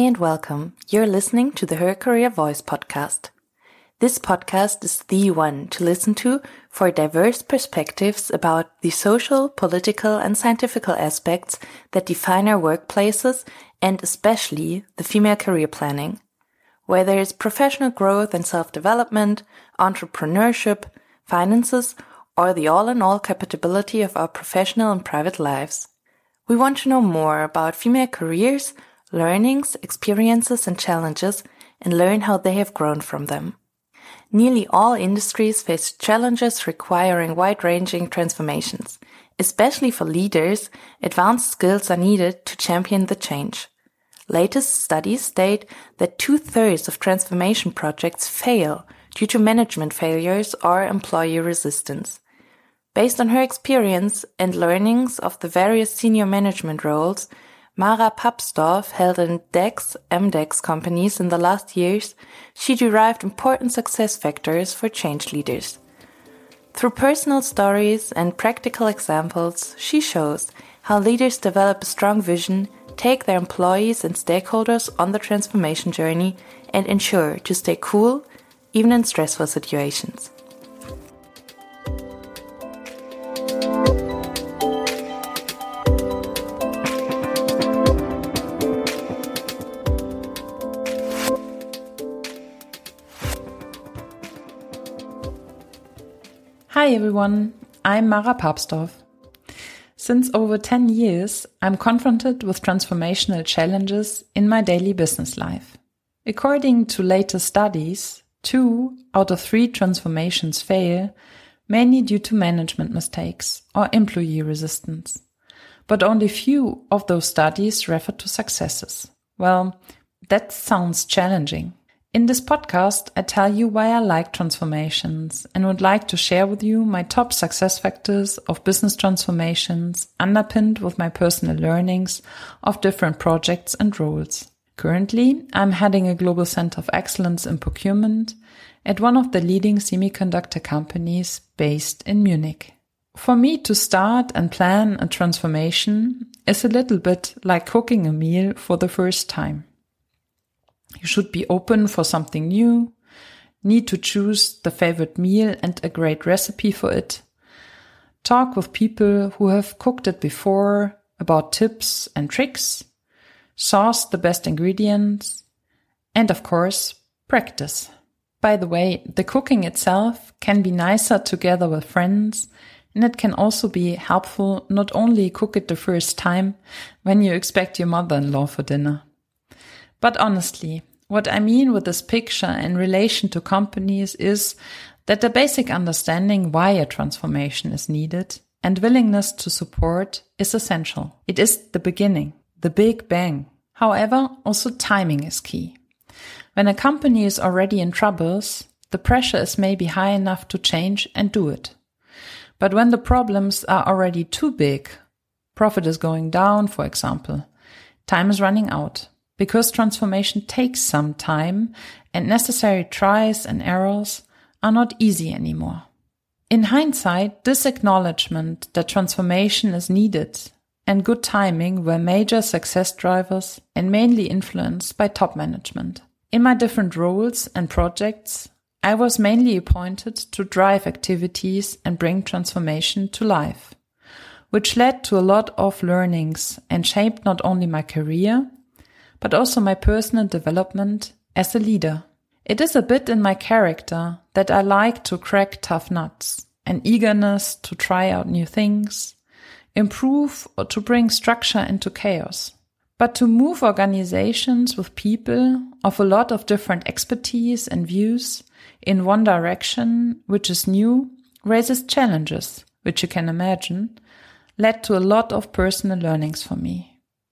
Hey and welcome. You're listening to the Her Career Voice podcast. This podcast is the one to listen to for diverse perspectives about the social, political, and scientific aspects that define our workplaces and especially the female career planning. Whether it's professional growth and self-development, entrepreneurship, finances, or the all-in-all compatibility of our professional and private lives. We want to know more about female careers, learnings, experiences, and challenges, and learn how they have grown from them. Nearly all industries face challenges requiring wide-ranging transformations. Especially for leaders, advanced skills are needed to champion the change. Latest studies state that 2/3 of transformation projects fail due to management failures or employee resistance. Based on her experience and learnings of the various senior management roles Mara Papsdorf held in DAX, MDAX companies in the last years, she derived important success factors for change leaders. Through personal stories and practical examples, she shows how leaders develop a strong vision, take their employees and stakeholders on the transformation journey, and ensure to stay cool, even in stressful situations. Hi everyone, I'm Mara Papsdorf. Since over 10 years, I'm confronted with transformational challenges in my daily business life. According to latest studies, 2 out of 3 transformations fail, mainly due to management mistakes or employee resistance. But only few of those studies refer to successes. Well, that sounds challenging. In this podcast, I tell you why I like transformations and would like to share with you my top success factors of business transformations underpinned with my personal learnings of different projects and roles. Currently, I'm heading a global center of excellence in procurement at one of the leading semiconductor companies based in Munich. For me to start and plan a transformation is a little bit like cooking a meal for the first time. You should be open for something new, need to choose the favorite meal and a great recipe for it, talk with people who have cooked it before about tips and tricks, source the best ingredients, and of course, practice. By the way, the cooking itself can be nicer together with friends, and it can also be helpful not only cook it the first time when you expect your mother-in-law for dinner. But honestly, what I mean with this picture in relation to companies is that the basic understanding why a transformation is needed and willingness to support is essential. It is the beginning, the big bang. However, also timing is key. When a company is already in troubles, the pressure is maybe high enough to change and do it. But when the problems are already too big, profit is going down, for example, time is running out. Because transformation takes some time and necessary tries and errors are not easy anymore. In hindsight, this acknowledgement that transformation is needed and good timing were major success drivers and mainly influenced by top management. In my different roles and projects, I was mainly appointed to drive activities and bring transformation to life, which led to a lot of learnings and shaped not only my career, but also my personal development as a leader. It is a bit in my character that I like to crack tough nuts, an eagerness to try out new things, improve or to bring structure into chaos. But to move organizations with people of a lot of different expertise and views in one direction, which is new, raises challenges, which you can imagine, led to a lot of personal learnings for me.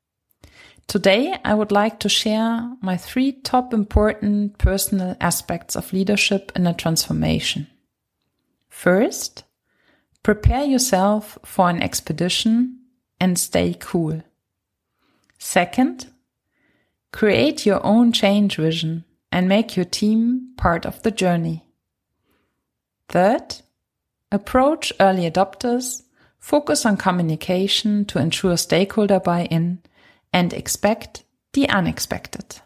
Today, I would like to share my 3 top important personal aspects of leadership in a transformation. First, prepare yourself for an expedition and stay cool. Second, create your own change vision and make your team part of the journey. Third, approach early adopters, focus on communication to ensure stakeholder buy-in, and expect the unexpected.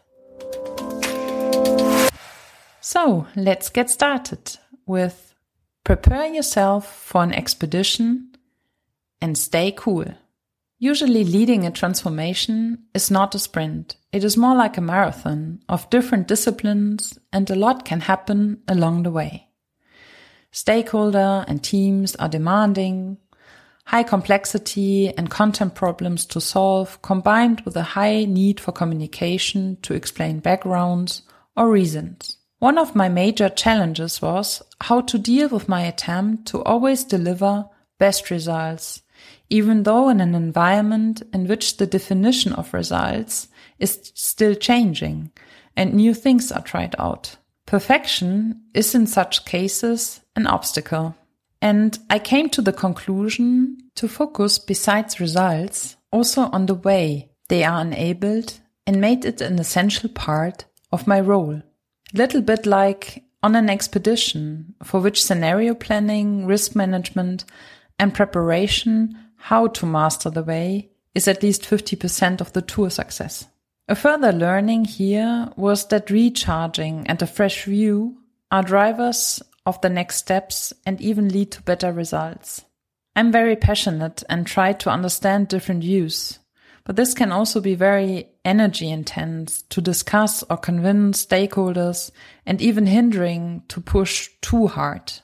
So let's get started with prepare yourself for an expedition and stay cool. Usually leading a transformation is not a sprint. It is more like a marathon of different disciplines, and a lot can happen along the way. Stakeholder and teams are demanding, high complexity and content problems to solve, combined with a high need for communication to explain backgrounds or reasons. One of my major challenges was how to deal with my attempt to always deliver best results, even though in an environment in which the definition of results is still changing and new things are tried out. Perfection is in such cases an obstacle. And I came to the conclusion to focus besides results also on the way they are enabled and made it an essential part of my role. A little bit like on an expedition for which scenario planning, risk management and preparation how to master the way is at least 50% of the tour success. A further learning here was that recharging and a fresh view are drivers of the next steps and even lead to better results. I'm very passionate and try to understand different views, but this can also be very energy intense to discuss or convince stakeholders and even hindering to push too hard.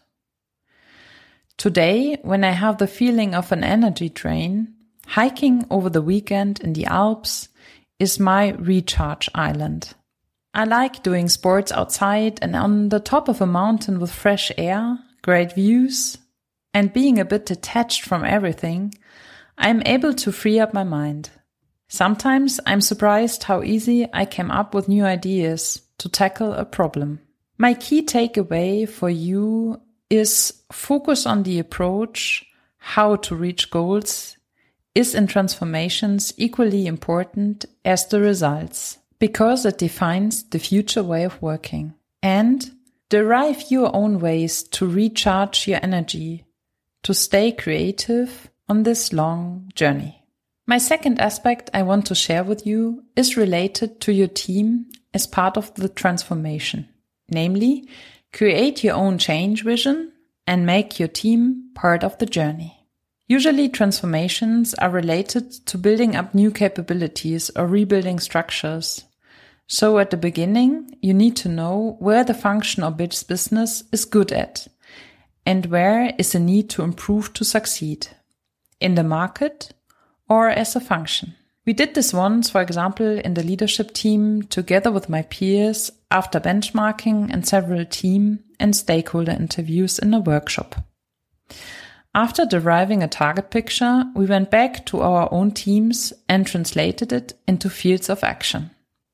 Today, when I have the feeling of an energy drain, hiking over the weekend in the Alps is my recharge island. I like doing sports outside and on the top of a mountain with fresh air, great views, and being a bit detached from everything, I'm able to free up my mind. Sometimes I'm surprised how easy I came up with new ideas to tackle a problem. My key takeaway for you is focus on the approach, how to reach goals is in transformations equally important as the results, because it defines the future way of working. And derive your own ways to recharge your energy, to stay creative on this long journey. My second aspect I want to share with you is related to your team as part of the transformation. Namely, create your own change vision and make your team part of the journey. Usually transformations are related to building up new capabilities or rebuilding structures. So at the beginning, you need to know where the function or business is good at and where is a need to improve to succeed, in the market or as a function. We did this once, for example, in the leadership team together with my peers after benchmarking and several team and stakeholder interviews in a workshop. After deriving a target picture, we went back to our own teams and translated it into fields of action.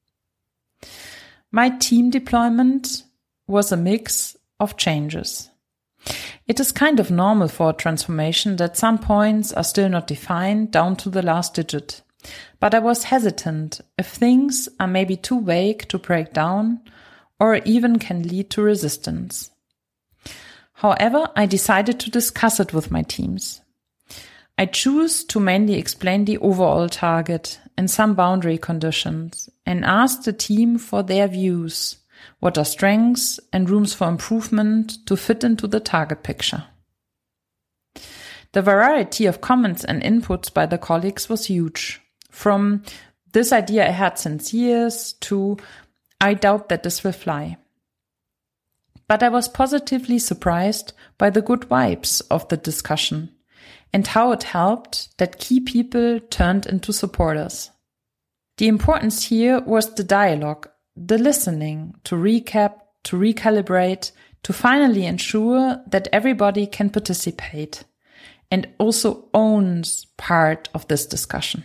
My team deployment was a mix of changes. It is kind of normal for a transformation that some points are still not defined down to the last digit. But I was hesitant if things are maybe too vague to break down or even can lead to resistance. However, I decided to discuss it with my teams. I choose to mainly explain the overall target and some boundary conditions and ask the team for their views, what are strengths and rooms for improvement to fit into the target picture. The variety of comments and inputs by the colleagues was huge. From this idea I had since years to I doubt that this will fly. But I was positively surprised by the good vibes of the discussion and how it helped that key people turned into supporters. The importance here was the dialogue, the listening, to recap, to recalibrate, to finally ensure that everybody can participate and also owns part of this discussion.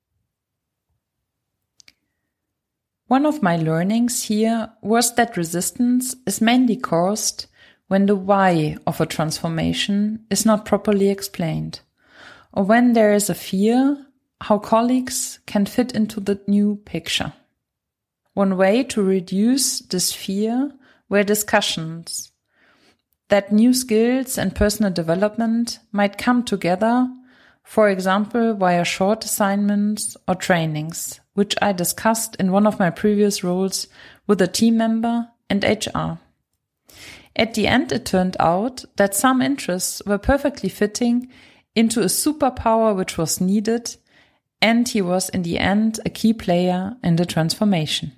One of my learnings here was that resistance is mainly caused when the why of a transformation is not properly explained, or when there is a fear how colleagues can fit into the new picture. One way to reduce this fear were discussions that new skills and personal development might come together, for example, via short assignments or trainings which I discussed in one of my previous roles with a team member and HR. At the end, it turned out that some interests were perfectly fitting into a superpower which was needed, and he was in the end a key player in the transformation.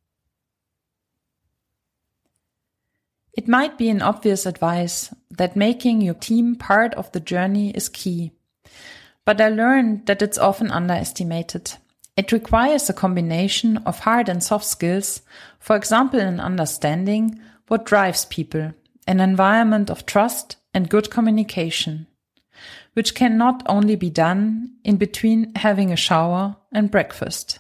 It might be an obvious advice that making your team part of the journey is key, but I learned that it's often underestimated. It requires a combination of hard and soft skills, for example in understanding what drives people, an environment of trust and good communication, which can not only be done in between having a shower and breakfast.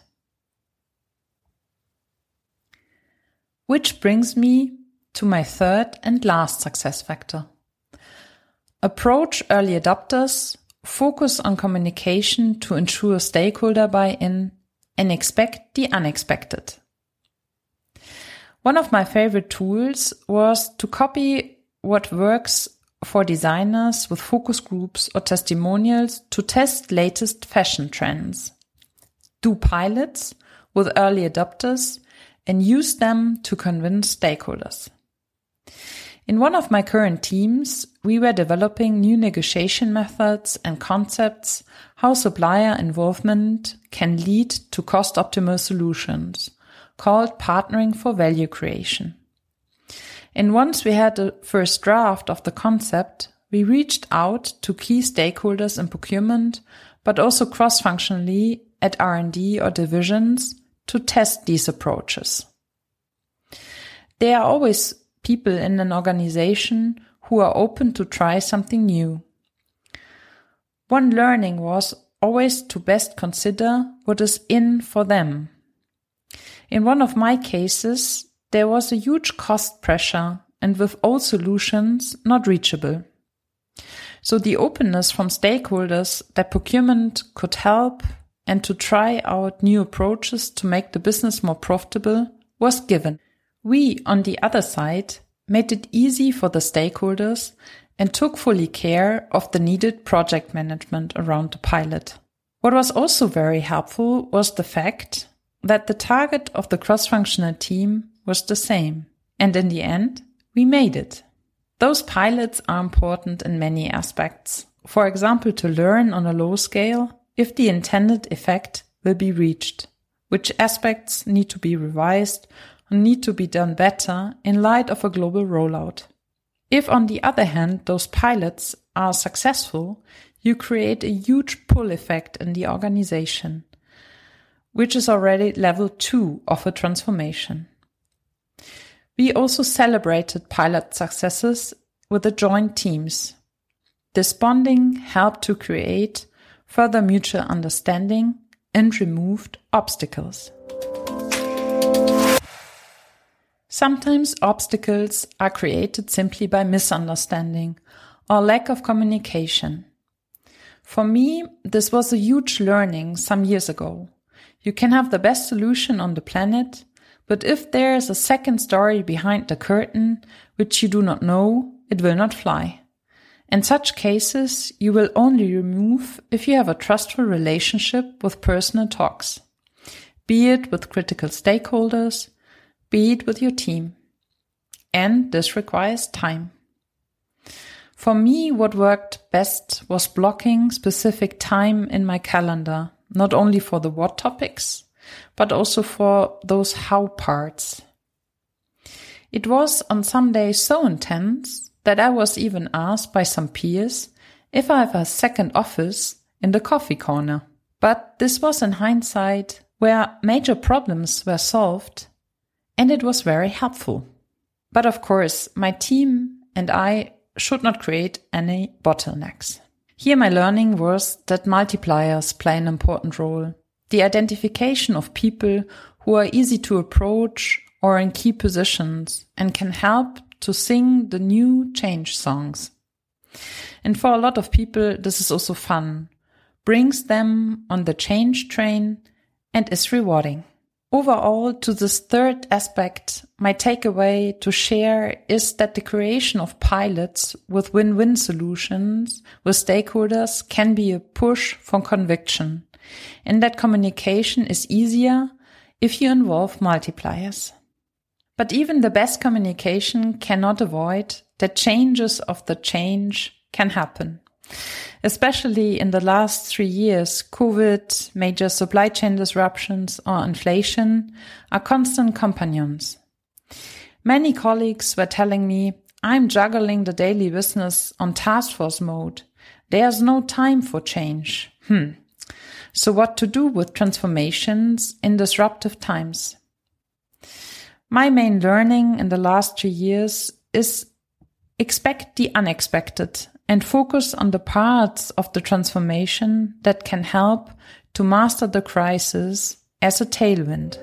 Which brings me to my third and last success factor. Approach early adopters, focus on communication to ensure stakeholder buy-in, and expect the unexpected. One of my favorite tools was to copy what works for designers with focus groups or testimonials to test latest fashion trends. Do pilots with early adopters and use them to convince stakeholders. In one of my current teams, we were developing new negotiation methods and concepts, how supplier involvement can lead to cost-optimal solutions, called partnering for value creation. And once we had the first draft of the concept, we reached out to key stakeholders in procurement, but also cross-functionally at R&D or divisions to test these approaches. There are always people in an organization who are open to try something new. One learning was always to best consider what is in for them. In one of my cases, there was a huge cost pressure and with old solutions not reachable. So the openness from stakeholders that procurement could help and to try out new approaches to make the business more profitable was given. We, on the other side, made it easy for the stakeholders and took fully care of the needed project management around the pilot. What was also very helpful was the fact that the target of the cross-functional team was the same. And in the end, we made it. Those pilots are important in many aspects. For example, to learn on a low scale if the intended effect will be reached, which aspects need to be revised and need to be done better in light of a global rollout. If, on the other hand, those pilots are successful, you create a huge pull effect in the organization, which is already level 2 of a transformation. We also celebrated pilot successes with the joint teams. This bonding helped to create further mutual understanding and removed obstacles. Sometimes obstacles are created simply by misunderstanding or lack of communication. For me, this was a huge learning some years ago. You can have the best solution on the planet, but if there is a second story behind the curtain which you do not know, it will not fly. In such cases, you will only remove if you have a trustful relationship with personal talks, be it with critical stakeholders, be it with your team. And this requires time. For me, what worked best was blocking specific time in my calendar, not only for the what topics, but also for those how parts. It was on some days so intense that I was even asked by some peers if I have a second office in the coffee corner. But this was in hindsight where major problems were solved, and it was very helpful. But of course, my team and I should not create any bottlenecks. Here my learning was that multipliers play an important role. The identification of people who are easy to approach or in key positions and can help to sing the new change songs. And for a lot of people, this is also fun, brings them on the change train and is rewarding. Overall, to this third aspect, my takeaway to share is that the creation of pilots with win-win solutions with stakeholders can be a push for conviction and that communication is easier if you involve multipliers. But even the best communication cannot avoid that changes of the change can happen. Especially in the last 3 years, COVID, major supply chain disruptions, or inflation are constant companions. Many colleagues were telling me, I'm juggling the daily business on task force mode. There's no time for change. So what to do with transformations in disruptive times? My main learning in the last 3 years is expect the unexpected and focus on the parts of the transformation that can help to master the crisis as a tailwind.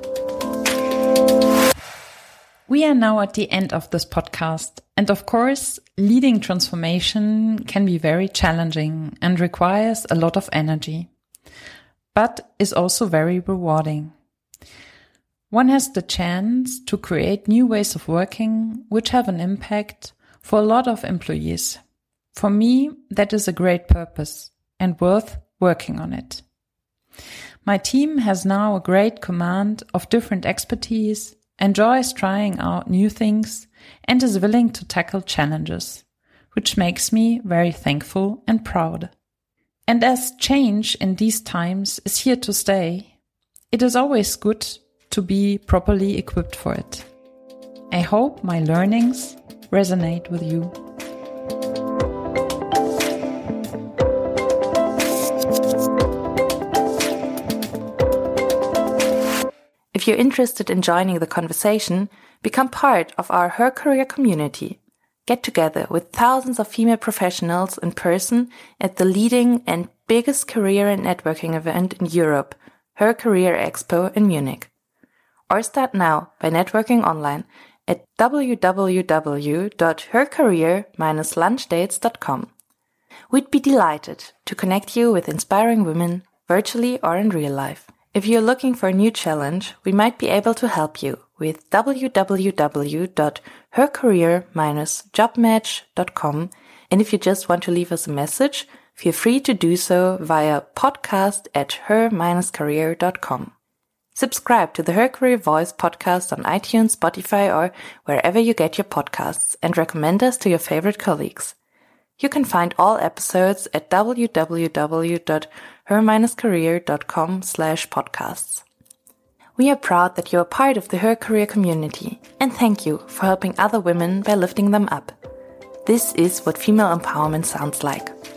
We are now at the end of this podcast, and of course, leading transformation can be very challenging and requires a lot of energy, but is also very rewarding. One has the chance to create new ways of working which have an impact for a lot of employees. For me, that is a great purpose and worth working on it. My team has now a great command of different expertise, enjoys trying out new things, and is willing to tackle challenges, which makes me very thankful and proud. And as change in these times is here to stay, it is always good to be properly equipped for it. I hope my learnings resonate with you. If you're interested in joining the conversation, become part of our Her Career community. Get together with thousands of female professionals in person at the leading and biggest career and networking event in Europe, Her Career Expo in Munich. Or start now by networking online at www.hercareer-lunchdates.com. We'd be delighted to connect you with inspiring women, virtually or in real life. If you're looking for a new challenge, we might be able to help you with www.hercareer-jobmatch.com. And if you just want to leave us a message, feel free to do so via podcast@her-career.com. Subscribe to the Her Career Voice podcast on iTunes, Spotify, or wherever you get your podcasts, and recommend us to your favorite colleagues. You can find all episodes at www.her-career.com/podcasts. We are proud that you are part of the Her Career community, and thank you for helping other women by lifting them up. This is what female empowerment sounds like.